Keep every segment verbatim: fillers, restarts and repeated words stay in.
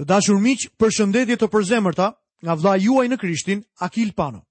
Të dashur miq, përshëndetje të përzemërta nga vlla juaj në Krishtin, Akil Pano.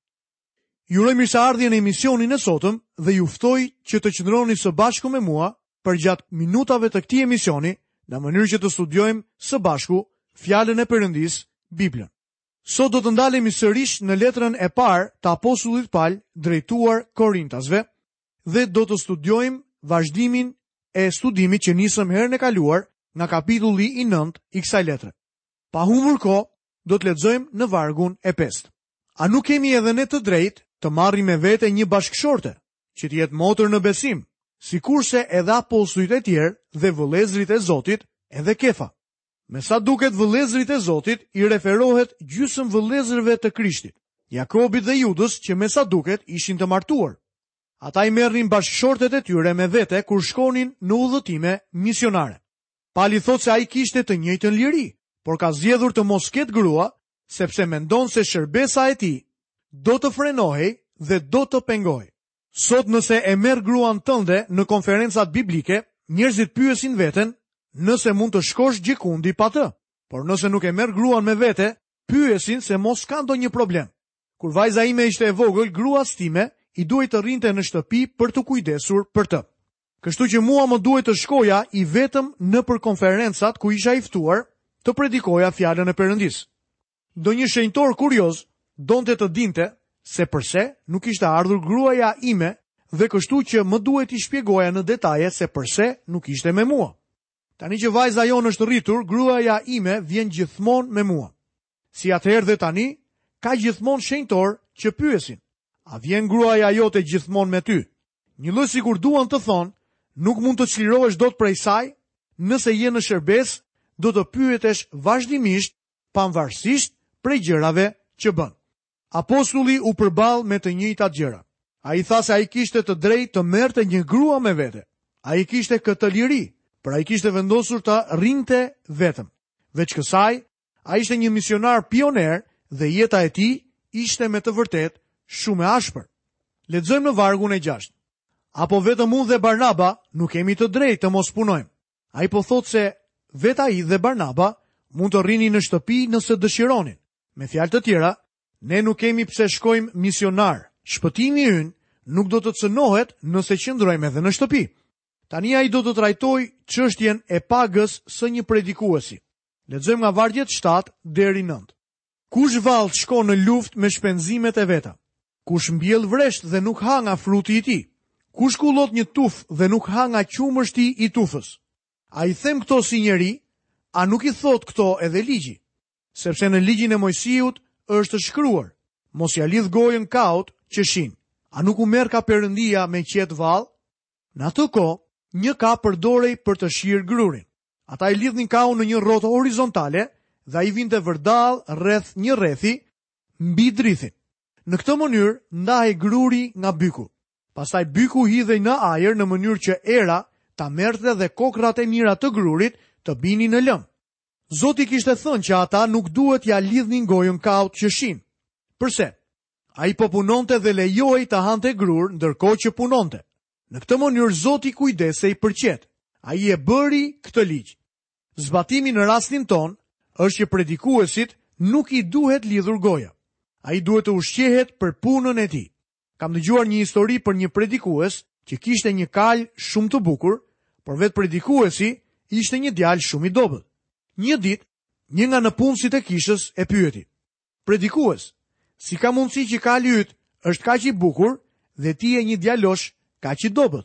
Ju uroj mirëseardhje në emisionin e sotëm dhe ju ftoj që të qëndroni së bashku me mua për gjatë minutave të këtij emisioni, në mënyrë që të studiojmë së bashku fjalën e Perëndisë, Biblën. Sot do të ndalemi sërish në letrën e parë të apostullit Paul drejtuar Korintasve dhe do të studiojmë vazhdimin e studimit që nisëm herën e kaluar nga kapitulli i nëntë i kësaj letre. Pa humbur kohë, do të lexojmë në vargun e pestë. A nuk kemi edhe ne të drejtë të marrim me vete një bashkëshorte, që të jetë motër në besim, sikurse edhe apostujt e tjerë dhe vëllezërit e Zotit, edhe Kefa. Me sa duket vëllezërit e Zotit i referohet gjysmë vëllezërve të Krishtit, Jakobit dhe Judës, që me sa duket ishin të martuar. Ata i merrnin bashkëshortet e tyre me vete kur shkonin në udhëtime misionare. Pali thot se ai kishte të njëjtën liri, por ka zgjedhur të mos ketë grua, sepse mendon se shërbesa e tij do të frenohej dhe do të pengohej. Sot nëse e merr gruan tënde në konferencat biblike, njerëzit pyesin veten nëse mund të shkosh gjikundi pa të, por nëse nuk e merr gruan me vete, pyesin se mos ka ndonjë problem. Kur vajza ime ishte e vogël, gruas time i duhej të rrinte në shtëpi për të kujdesur për të. Kështu që mua më duhet të shkoja i vetëm në për konferencat ku isha i ftuar të predikoja fjalën e Perëndisë. Ndonjë shenjtor kurioz donte të dinte se pse nuk ishte ardhur gruaja ime dhe kështu që më duhet i shpjegoja në detaje se pse nuk ishte me mua. Tani që vajza jonë është rritur, gruaja ime vjen gjithmonë me mua. Si atëherë dhe tani, ka gjithmonë shenjtor që pyesin: a vjen gruaja jote gjithmonë me ty? Një lloj sikur duan të thonë, nuk mund të çlirohesh dot prej saj, nëse je në shërbes, do të pyetesh vazhdimisht, pavarësisht prej gjërave që bën. Apostulli u përball me të njëjtat gjëra. Ai tha se ai kishte të drejtë të merrte një grua me vete. Ai kishte këtë liri, por ai kishte vendosur të rrinte vetëm. Veç kësaj, ai ishte një misionar pioner dhe jeta e tij ishte me të vërtetë shumë e ashpër. Lexojmë në vargun e gjashtë. Apo vetëm unë dhe Barnaba nuk kemi të drejtë të mos punojmë? Ai po thotë se vetë ai dhe Barnaba mund të rrini në shtëpi nëse dëshironin. Me fjalë të tjera, ne nuk kemi pse shkojmë misionar. Shpëtimi ynë nuk do të cënohet nëse qëndrojmë edhe në shtëpi. Tani ai do të trajtojë çështjen e pagës së një predikuesi. Lexojmë nga vargjet shtatë deri nëntë. Kush vallë shkon në luftë me shpenzimet e veta? Kush mbjell vresht dhe nuk ha nga fruti i tij? Kush kullot një tuf dhe nuk ha nga qumështi i tufës? A i them këto si njeri, a nuk i thot këto edhe ligji? Sepse në ligjin e Mojsiut është shkruar: mos ja lidh gojën kaut që shin. A nuk u merr ka Perëndia me qet vallë? Në atë kohë, një ka përdorej për të shirë grurin. Ata i lidhnin kaun në një rrotë horizontale dhe ai vinte vërdall rreth një rrethi mbi drithin. Në këtë mënyrë ndahej gruri nga byku. Pastaj byku hidhej në ajër në mënyrë që era ta merrte dhe kokrat e mira të grurit të binin në lëm. Zoti kishte thënë që ata nuk duhet ja lidhnin gojën kaut që shin. Përse? Ai po punonte dhe lejohej të hante grur ndërkohë që punonte. Në këtë mënyrë Zoti kujdesej për qet. Ai e bëri këtë ligj. Zbatimi në rastin ton është që predikuesit nuk i duhet lidhur goja. Ai duhet të ushqehet për punën e tij. Kam dëgjuar një histori për një predikues që kishte një kalë shumë të bukur, por vetë predikuesi ishte një djalë shumë i dobët. Një ditë, një nga nëpunësit e kishës e pyeti: predikues, si ka mundësi që kali yt është kaq i bukur dhe ti je një djalosh kaq i dobët?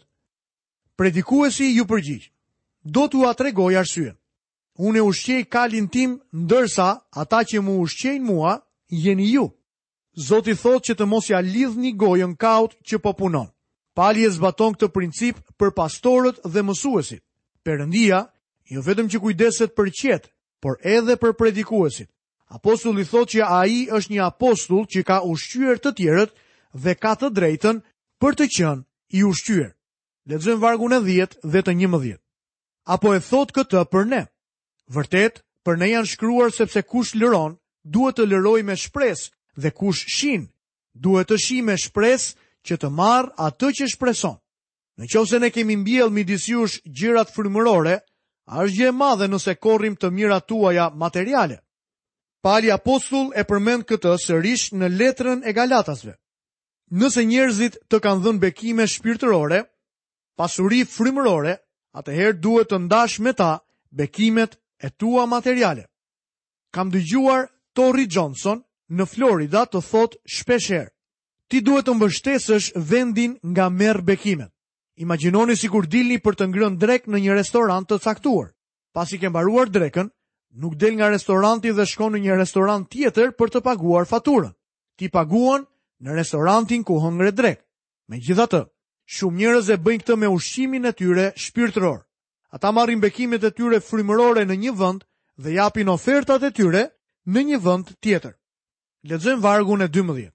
Predikuesi ju përgjigj: do t'u tregoj arsyen. Unë e ushqej kalin tim, ndërsa ata që mu ushqejnë mua jeni ju. Zoti thot që të mos ja lidhni gojën kaut që po punon. Pali e zbaton këtë princip për pastorët dhe mësuesit. Perëndia jo vetëm që kujdeset për qet, por edhe për predikuesit. Apostulli thot që ai është një apostull që ka ushqyer të tjerët dhe ka të drejtën për të qenë i ushqyer. Lexojmë vargun e dhjetë dhe të njëmbëdhjetë. Apo e thot këtë për ne? Vërtet, për ne janë shkruar sepse kush lëron, duhet të lëroj me shpresë, dhe kush shin, duhet të shi me shpresë që të marr atë që shpreson. Në qoftë se ne kemi mbjell midis jush gjërat frymërore, A është gjë e madhe nëse korrim të mirat tuaja materiale. Pali apostull e përmend këtë sërish në letrën e Galatasve. Nëse njerëzit të kanë dhënë bekime shpirtërore, pasuri frymërore, atëherë duhet të ndash me ta bekimet e tua materiale. Kam dëgjuar Torri Johnson në Florida të thot shpeshherë: ti duhet të mbështesësh vendin nga merr bekimet. Imagjinoni sikur dilni për të ngrënë drek në një restorant të caktuar. Pasi ke mbaruar drekën, nuk del nga restoranti dhe shkon në një restorant tjetër për të paguar faturën. Ti paguan në restorantin ku hëngre drek. Megjithatë, shumë njerëz e bëjnë këtë me ushqimin e tyre shpirtëror. Ata marrin bekimet e tyre frymërore në një vend dhe japin ofertat e tyre në një vend tjetër. Lexojmë vargun e dymbëdhjetë.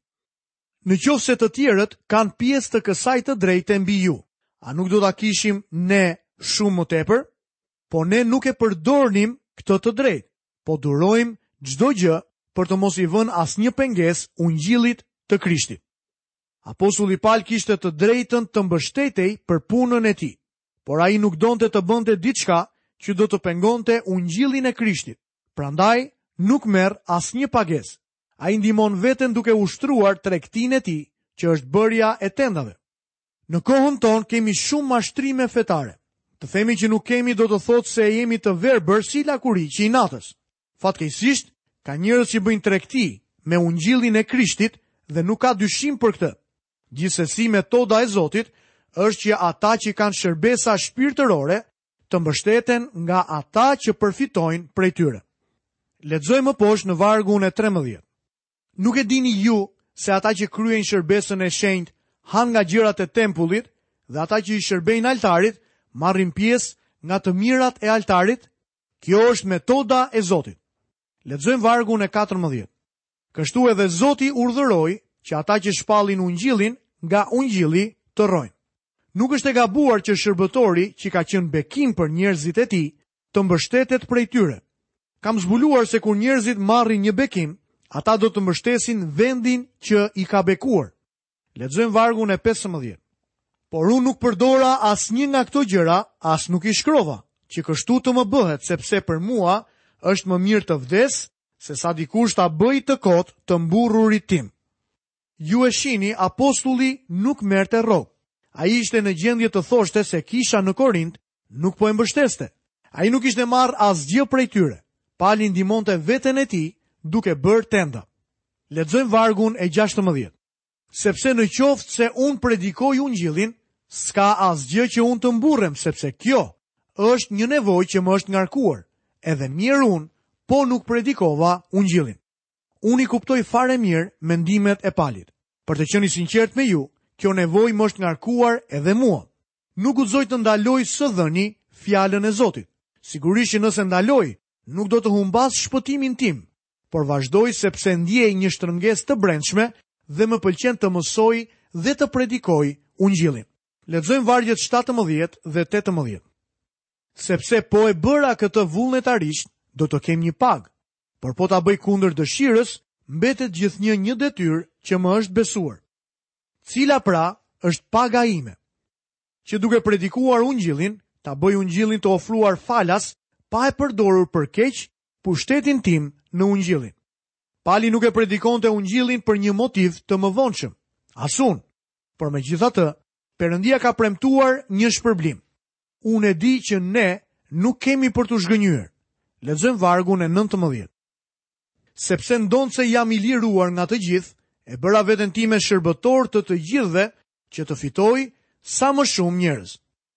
Në qoftë se të tjerët kanë pjesë të kësaj të drejtë mbi ju, a nuk do ta kishim ne shumë më tepër? Po ne nuk e përdornim këtë të drejtë, po durojmë çdo gjë për të mos i vënë asnjë pengesë ungjillit të Krishtit. Apostulli Paul kishte të drejtën të mbështetej për punën e tij, por ai nuk donte të bënte diçka që do të pengonte ungjillin e Krishtit. Prandaj nuk merr asnjë pagesë. Ai ndihmon veten duke ushtruar tregtinë e tij, që është bërja e tendave. Në kohën tonë kemi shumë mashtrime fetare. Të themi që nuk kemi do të thotë se jemi të verbër si lakuriçi i natës. Fatkeqësisht, ka njerëz që bëjnë tregti me ungjillin e Krishtit dhe nuk ka dyshim për këtë. Gjithsesi, metoda e Zotit është që ata që kanë shërbesa shpirtërore të mbështeten nga ata që përfitojnë prej tyre. Lexojmë më poshtë në vargun e trembëdhjetë. Nuk e dini ju se ata që kryejnë shërbesën e shenjtë han nga gjërat e tempullit dhe ata që i shërbejnë altarit marrin pjesë nga të mirat e altarit? Kjo është metoda e Zotit. Lexojmë vargun e katërmbëdhjetë. Kështu edhe Zoti urdhëroi që ata që shpallin ungjillin nga ungjilli të rrojnë. Nuk është e gabuar që shërbëtori që ka qenë bekim për njerëzit e tij të mbështetet prej tyre. Kam zbuluar se kur njerëzit marrin një bekim, ata do të mbështesin vendin që i ka bekuar. Lexojmë vargun e pesëmbëdhjetë. Por unë nuk përdora asnjë nga këto gjëra, as nuk i shkrova, që kështu të më bëhet, sepse për mua është më mirë të vdes, se sa dikush ta bëj të kot të mburrurit tim. Ju e shihni, apostulli nuk merrte rrogë. Ai ishte në gjendje të thoshte se kisha në Korint nuk po e mbështeste. Ai nuk ishte marrë asgjë prej tyre. Pali ndihmonte veten e tij duke bërë tenda. Lexojmë vargun e gjashtëmbëdhjetë. Sepse në qoftë se unë predikoj ungjillin, s'ka asgjë që unë të mburrem, sepse kjo është një nevojë që më është ngarkuar. Edhe mirë unë, po nuk predikova ungjillin. Unë i kuptoj fare mirë mendimet e Palit. Për të qenë i sinqert me ju, kjo nevojë më është ngarkuar edhe mua. Nuk guxoj të ndaloj së dhëni fjalën e Zotit. Sigurisht që nëse ndaloj, nuk do të humbas shpëtimin tim, por vazhdoj sepse ndjej një shtrëngesë të brendshme dhe më pëlqen të mësoj dhe të predikoj ungjillin. Lexojmë vargjet shtatëmbëdhjetë dhe tetëmbëdhjetë. Sepse po e bëra këtë vullnetarisht, do të kem një pagë, por po ta bëj kundër dëshirës, mbetet gjithnjë një detyrë që më është besuar. Cila pra është paga ime? Që duke predikuar ungjillin, ta bëj ungjillin të ofruar falas, pa e përdorur për keq pushtetin tim në ungjillin. Pali nuk e predikonte ungjillin për një motiv të mëvonshëm, asun, por megjithatë, Perëndia ka premtuar një shpërblim. Unë e di që ne nuk kemi për të zhgënjyer. Lexojmë vargun e nëntëmbëdhjetë. Sepse ndonë se jam i liruar nga të gjithë, e bëra veten time shërbëtor të të gjithëve që të fitoj sa më shumë njerëz.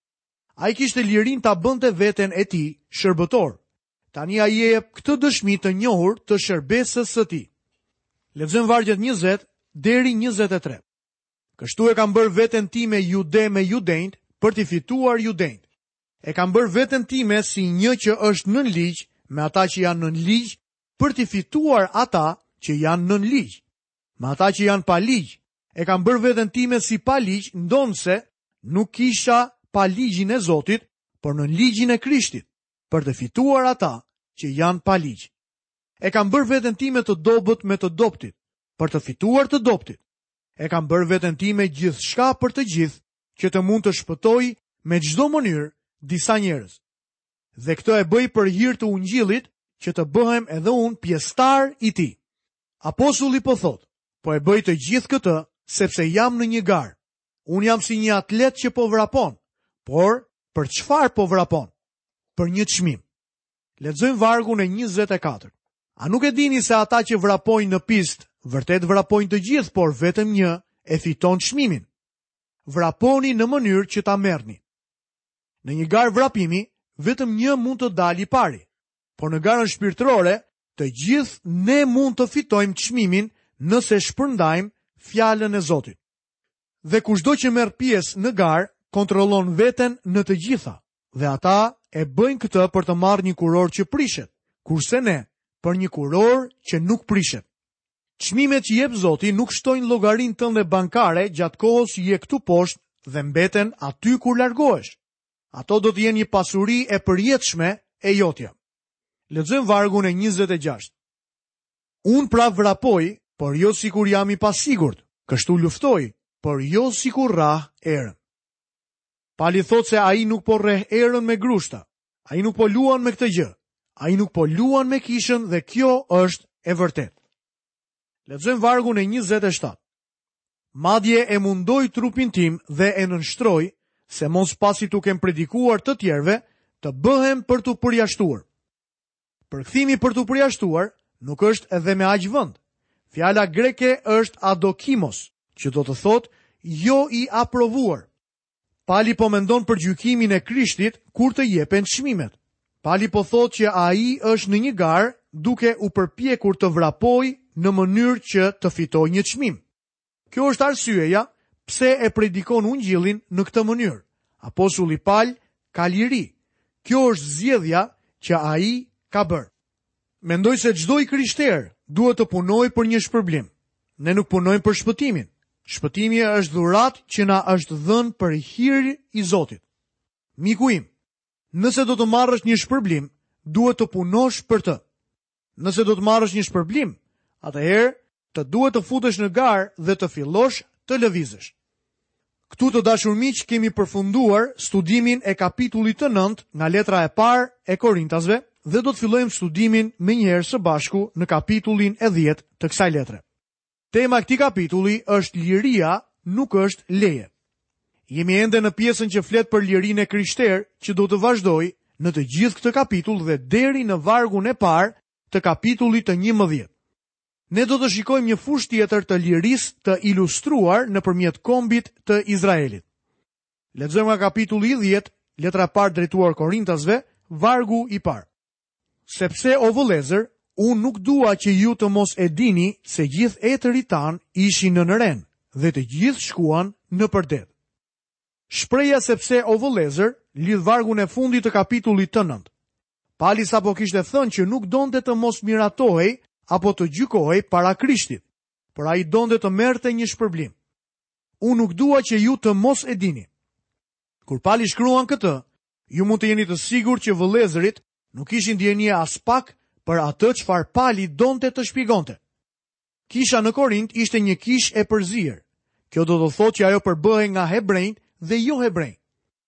Ai kishte lirin ta bënte veten e tij shërbëtor. Tani ai jep këtë dëshmi të njohur të shërbesës së tij. Lexojmë vargjet njëzet deri njëzet e tre. Kështu e kam bërë veten time jude me judenjt për t'i fituar judenjt. E kam bërë veten time si një që është nën ligj me ata që janë nën ligj për t'i fituar ata që janë nën ligj. Me ata që janë pa ligj, e kam bërë veten time si pa ligj, ndonse nuk kisha pa ligjin e Zotit, por nën ligjin e Krishtit, për të fituar ata që janë pa ligj. E kam bërë veten time të dobët me të doptit, për të fituar të doptit. E kam bërë veten time gjithçka për të gjithë, që të mund të shpëtoj me çdo mënyrë disa njerëz. Dhe këtë e bëj për hir të ungjillit, që të bëhem edhe unë pjesëtar i tij. Apostulli po thot, po e bëj të gjithë këtë sepse jam në një garë. Unë jam si një atlet që po vrapon, por për çfarë po vrapon? Për një çmim. Lexojmë vargun e njëzet e katër. A nuk e dini se ata që vrapojnë në pistë, vërtet vrapojnë të gjithë, por vetëm një e fiton çmimin. Vraponi në mënyrë që ta merrni. Në një garë vrapimi, vetëm një mund të dalë i pari, por në garën shpirtërore, të gjithë ne mund të fitojmë çmimin nëse shpërndajmë fjalën e Zotit. Dhe kushdo që merr pjesë në garë, kontrollon veten në të gjitha, dhe ata e bëjnë këtë për të marrë një kuror që prishet, kurse ne për një kuror që nuk prishet. Çmimet që jep Zoti nuk shtojnë llogarinë tënde bankare gjatë kohës që je këtu poshtë dhe mbeten aty kur largohesh. Ato do të jenë një pasuri e përjetshme e jotja. Lexojmë vargun e njëzet e gjashtë. Unë pra vrapoj, por jo sikur jam i pasigurt, kështu luftoj, por jo sikur rrah erën. Pali thot se ai nuk po rreh erën me grushta, ai nuk po luan me këtë gjë, ai nuk po luan me kishën dhe kjo është e vërtetë. Lexojmë vargun e njëzet e shtatë. Madje e mundoj trupin tim dhe e nënshtroj, se mos pasi tu kem predikuar të tjerve, të bëhem për të përjashtuar. Përkthimi për të përjashtuar nuk është edhe me aq vend. Fjala greke është adokimos, që do të thotë jo i aprovuar. Pali po mendon për gjykimin e Krishtit kur të jepen çmimet. Pali po thotë që ai është në një garë duke u përpjekur të vrapojë në mënyrë që të fitojë një çmim. Kjo është arsyeja pse e predikon ungjillin në këtë mënyrë. Apostulli Paul ka liri. Kjo është zgjedhja që ai ka bërë. Mendoj se çdo i krishter duhet të punojë për një shpërblim. Ne nuk punojmë për shpëtimin. Shpëtimi është dhuratë që na është dhënë për hir i Zotit. Miku im, nëse do të marrësh një shpërblim, duhet të punosh për të. Nëse do të marrësh një shpërblim, atëherë të duhet të futesh në garë dhe të fillosh të lëvizësh. Këtu të dashur miq, kemi përfunduar studimin e kapitullit të nëntë nga letra e parë e Korintasve dhe do të fillojmë studimin menjëherë së bashku në kapitullin e dhjetë të kësaj letre. Tema e këtij kapitulli është liria, nuk është leje. Jemi ende në pjesën që flet për lirinë e krishterë, që do të vazhdojë në të gjithë këtë kapitull dhe deri në vargun e parë të kapitullit të njëmbëdhjetë. Ne do të shikojmë një fushë tjetër të lirisë të ilustruar nëpërmjet kombit të Izraelit. Lexojmë nga kapitulli i dhjetë, letra e parë drejtuar Korintasve, vargu i parë. Sepse o vëllezër, unë nuk dua që ju të mos e dini se gjithë etërit tanë ishin në nëren dhe të gjithë shkuan në përdet. Shpreja sepse o vëllezër lidh vargun e fundit të kapitullit të nëntë. Pali sapo kishte thënë që nuk donte të mos miratohej apo të gjykohej para Krishtit, por ai donte të merrte një shpërblim. Unë nuk dua që ju të mos e dini. Kur Pali shkruan këtë, ju mund të jeni të sigurt që vëllezërit nuk ishin ndjenje as pak për atë çfarë Pali donte të shpjegonte. Kisha në Korint ishte një kishë e përzier. Kjo do të thotë që ajo përbëhej nga hebrejt dhe jo hebrejt.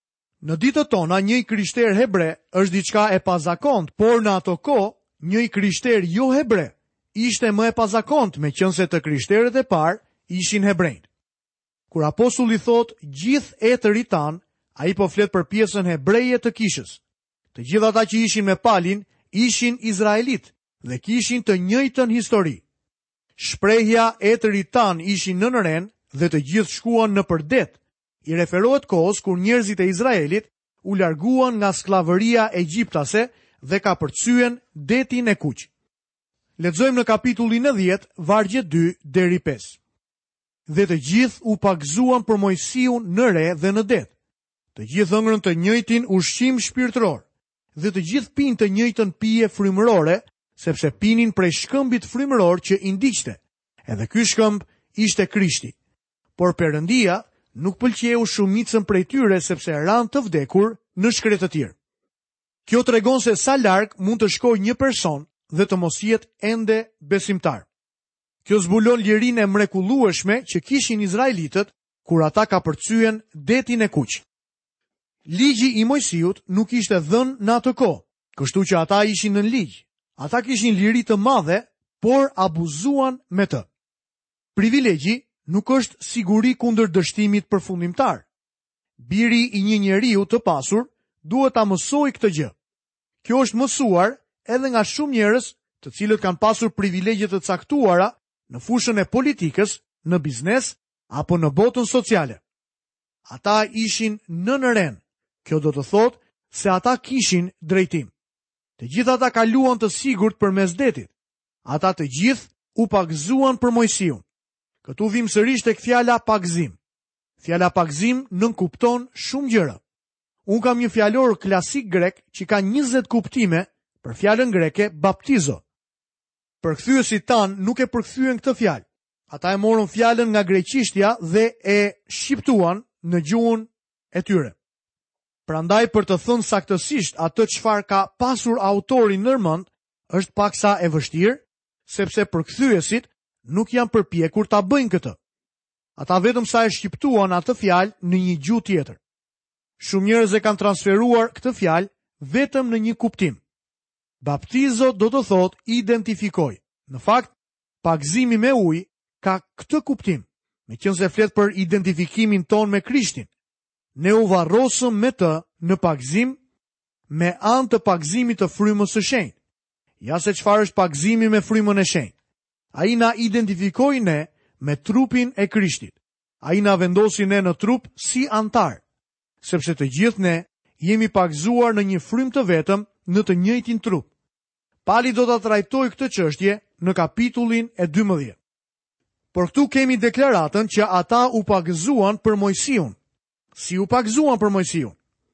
Në ditët tona, një krishter hebre është diçka e pazakont, por në ato kohë, një krishter jo hebre ishte më e pazakont, meqense të krishterët e parë ishin hebrejt. Kur apostulli thotë gjithë etërit tan, ai po flet për pjesën hebreje të kishës. Të gjithë ata që ishin me Palin ishin izraelit dhe kishin të njëjtën histori. Shprehja etërit tan ishin në nëren dhe të gjithë shkuan në përdet i referohet kohës kur njerëzit e Izraelit u larguan nga skllavëria egjiptase dhe ka përcyen detin e Kuq. Lexojmë në kapitullin e dhjetë, vargje dy deri pesë. Dhe të gjithë u pagzuan për Mojsiun në re dhe në det. Të gjithë ëngrën të njëjtin ushqim shpirtëror dhe të gjithë pinë të njëjtën pije frymërore, sepse pinin prej shkëmbit frymëror që i ndiqte. Edhe ky shkëmb ishte Krishti. Por Perëndia nuk pëlqeu shumicën prej tyre sepse ranë të vdekur në shkretë të tjerë. Kjo tregon se sa larg mund të shkojë një person dhe të mos jetë ende besimtar. Kjo zbulon lirinë e mrekullueshme që kishin izraelitët kur ata ka përcyen detin e Kuq. Ligji i Mojsiut nuk ishte dhënë në atë kohë, kështu që ata ishin në ligj. Ata kishin liri të madhe, por abuzuan me të. Privilegji nuk është siguri kundër dështimit përfundimtar. Biri i një njeriu të pasur duhet ta mësojë këtë gjë. Kjo është mësuar edhe nga shumë njerëz të cilët kanë pasur privilegje të caktuara në fushën e politikës, në biznes apo në botën sociale. Ata ishin në nëren. Kjo do të thotë se ata kishin drejtim. Të gjithë ata kaluan të sigurt përmes detit. Ata të gjithë u pagëzuan për Mojsiun. Këtu vim sërish tek fjala pagëzim. Fjala pagëzim nënkupton shumë gjëra. Unë kam një fjalor klasik grek që ka njëzet kuptime për fjalën greke baptizo. Përkthyesit tan nuk e përkthyen këtë fjalë. Ata e morën fjalën nga greqishtja dhe e shqiptuan në gjuhën e tyre. Prandaj për të thënë saktësisht atë çfarë ka pasur autori nërmend është paksa e vështirë, sepse përkthyesit nuk janë përpjekur ta bëjnë këtë. Ata vetëm sa e shqiptuan atë fjalë në një gjuhë tjetër. Shumë njerëz e kanë transferuar këtë fjalë vetëm në një kuptim. Baptizo do të thotë identifikoj. Në fakt, pagëzimi me ujë ka këtë kuptim, meqense flet për identifikimin ton me Krishtin. Ne u varrosëm me të në pagëzim me anë të pagëzimit të frymës së shenjtë. Ja se çfarë është pagëzimi me frymën e shenjtë. Ai na identifikoi ne me trupin e Krishtit. Ai na vendosi ne në trup si antar, sepse të gjithë ne jemi pagëzuar në një frymë të vetëm në të njëjtin trup. Pali do ta trajtojë këtë çështje në kapitullin e dymbëdhjetë. Por këtu kemi deklaratën që ata u pagëzuan për Mojsiun. Si u pagëzuan për Mojsiun?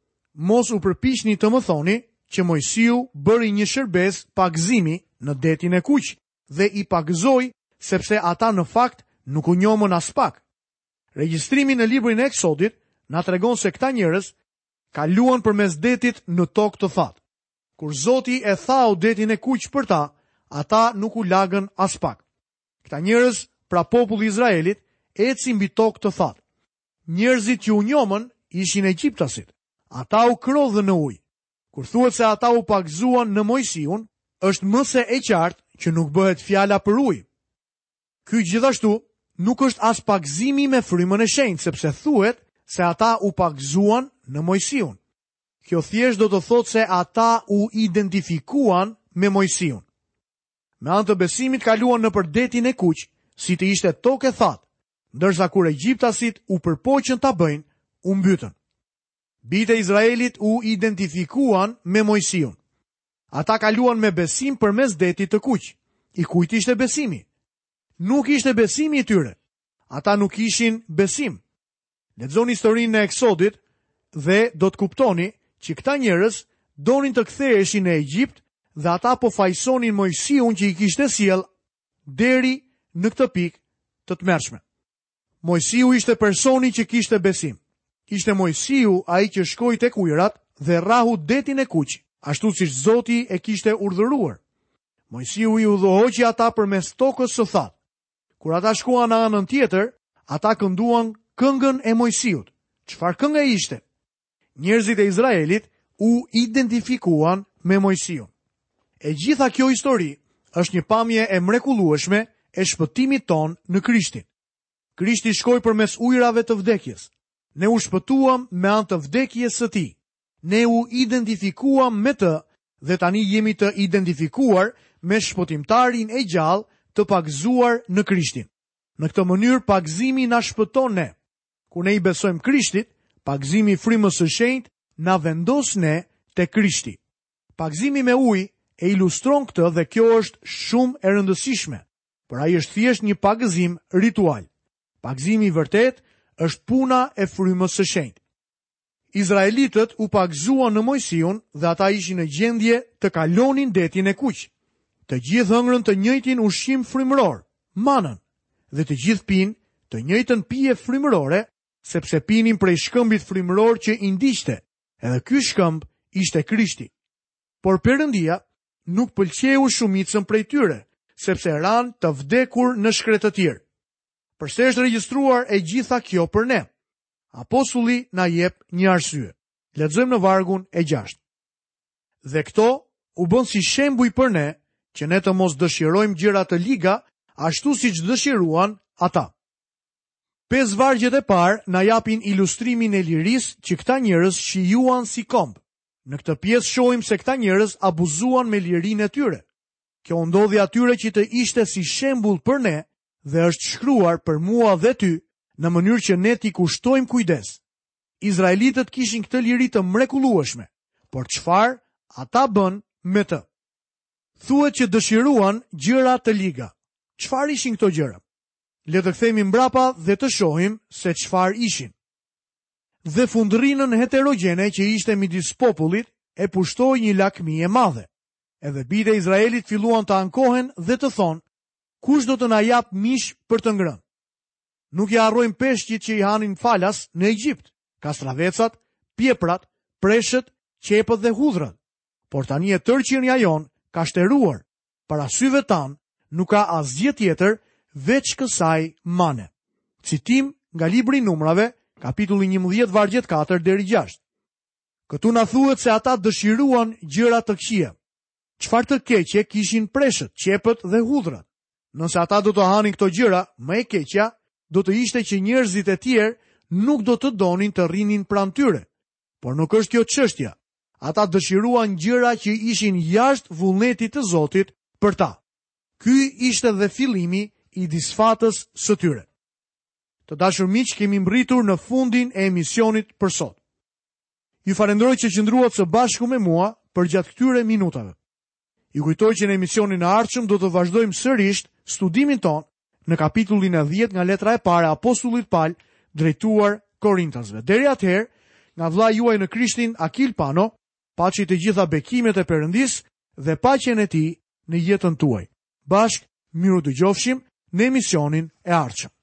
Mos u përpiqni të më thoni që Mojsiu bëri një shërbes pagëzimi në detin e Kuq dhe i pagëzoi sepse ata në fakt nuk u njohën as pak. Regjistrimi në librin e Eksodit na tregon se këta njerëz kaluan përmes detit në tokë të thatë. Kur Zoti e thau detin e Kuq për ta, ata nuk u lagën as pak. Këta njerëz, pra populli i Izraelit, ecin mbi tokë të thatë. Njerëzit që u njohën ishin egjiptasit. Ata u krodhën në ujë. Kur thuhet se ata u pagëzuan në Mojsiun, është më se e qartë që nuk bëhet fjala për ujë. Ky gjithashtu nuk është as pagëzimi me frymën e shenjtë, sepse thuhet se ata u pagëzuan në Mojsiun. Kjo thjesht do të thotë se ata u identifikuan me Mojsiun. Me anë të besimit kaluan nëpër detin e Kuq, si të ishte tokë e thatë, ndërsa kur egjiptasit u përpoqën ta bëjnë, u mbytën. Bijtë e Izraelit u identifikuan me Mojsiun. Ata kaluan me besim përmes detit të Kuq. I kujt ishte besimi? Nuk ishte besimi i tyre. Ata nuk ishin besim. Lexoni historinë e Eksodit dhe do të kuptoni që këta njerëz donin të ktheheshin në Egjipt dhe ata po fajsonin Mojsiun që i kishte sjell deri në këtë pikë të tmerrshme. Mojsiu ishte personi që kishte besim. Ishte Mojsiu ai që shkoi tek ujërat dhe rrahu detin e Kuq, ashtu siç Zoti e kishte urdhëruar. Mojsiu i udhëhoqi ata përmes tokës së thatë. Kur ata shkuan në anën tjetër, ata kënduan këngën e Mojsiut. Çfarë këngë ishte? Njerëzit e Izraelit u identifikuan me Mojsiun. E gjitha kjo histori është një pamje e mrekullueshme e shpëtimit ton në Krishtin. Krishti shkoi përmes ujrave të vdekjes. Ne u shpëtuam me anë të vdekjes së tij. Ne u identifikuam me të dhe tani jemi të identifikuar me shpëtimtarin e gjallë të pagëzuar në Krishtin. Në këtë mënyrë pagëzimi na shpëton ne. Kur ne i besojmë Krishtit, pagëzimi i frymës së shenjtë na vendos ne te Krishti. Pagëzimi me ujë e ilustron këtë dhe kjo është shumë e rëndësishme, por ai është thjesht një pagëzim ritual. Pagëzimi i vërtet është puna e frymës së shenjtë. Izraelitët u pagëzuan në Mojsiun dhe ata ishin në gjendje të kalonin detin e Kuq. Të gjithë hëngrën të njëjtin ushqim frymëror, manën, dhe të gjithë pinë të njëjtën pije frymërore, sepse pinin prej shkëmbit frymëror që i ndiqte, edhe ky shkëmb ishte Krishti. Por Perëndia nuk pëlqeu shumicën prej tyre, sepse ran të vdekur në shkretë të tjerë. Përse është regjistruar e gjitha kjo për ne? Apostulli na jep një arsye. Lexojmë në vargun e gjashtë. Dhe këto u bën si shembuj për ne, që ne të mos dëshirojmë gjëra të liga, ashtu siç dëshiruan ata. Pesë vargjet e parë na japin ilustrimin e lirisë që këta njerëz shijuan si komb. Në këtë pjesë shohim se këta njerëz abuzuan me lirinë e tyre. Kjo ndodhi atyre që të ishte si shembull për ne dhe është shkruar për mua dhe ty në mënyrë që ne t'i kushtojmë kujdes. Izraelitët kishin këtë liri të mrekullueshme, por çfarë ata bën me të? Thuhet që dëshiruan gjëra të liga. Çfarë ishin këto gjëra? Le të kthehemi mbrapa dhe të shohim se çfarë ishin. Dhe fundrinën heterogjene që ishte midis popullit e pushtoi një lakmi e madhe. Edhe bijtë e Izraelit filluan të ankohen dhe të thonë, kush do të na jap mish për të ngrënë? Nuk i harrojmë peshqit që i hanin falas në Egjipt, kastravecat, pjeprat, preshët, qepët dhe hudhrat. Por tani e tërë qenia jon ka shteruar, para syve tan nuk ka asgjë tjetër veç kësaj mane. Citim nga libri i Numrave, kapitulli njëmbëdhjetë vargjet katër deri gjashtë. Këtu na thuhet se ata dëshiruan gjëra të këqija. Çfarë të keqe kishin preshët, qepët dhe hudhrat? Nëse ata do të hanin këto gjëra, më e keqja do të ishte që njerëzit e tjerë nuk do të donin të rrinin pranë tyre. Por nuk është kjo çështja. Ata dëshiruan gjëra që ishin jashtë vullnetit të Zotit për ta. Ky ishte dhe fillimi i disfatës së tyre. Të dashur miq, kemi mbritur në fundin e emisionit për sot. Ju falenderoj që qëndruat së bashku me mua për gjatë këtyre minutave. Ju kujtoj që në emisionin e ardhshëm do të vazhdojmë sërish studimin ton në kapitullin e dhjetë nga letra e parë e apostullit Paul drejtuar Korintasve. Deri atëherë, nga vlla juaj në Krishtin Akil Pano, paçi të gjitha bekimet e Perëndis dhe paqen e tij në jetën tuaj. Bashk, miru dëgjofshim në emisionin e ardhshëm.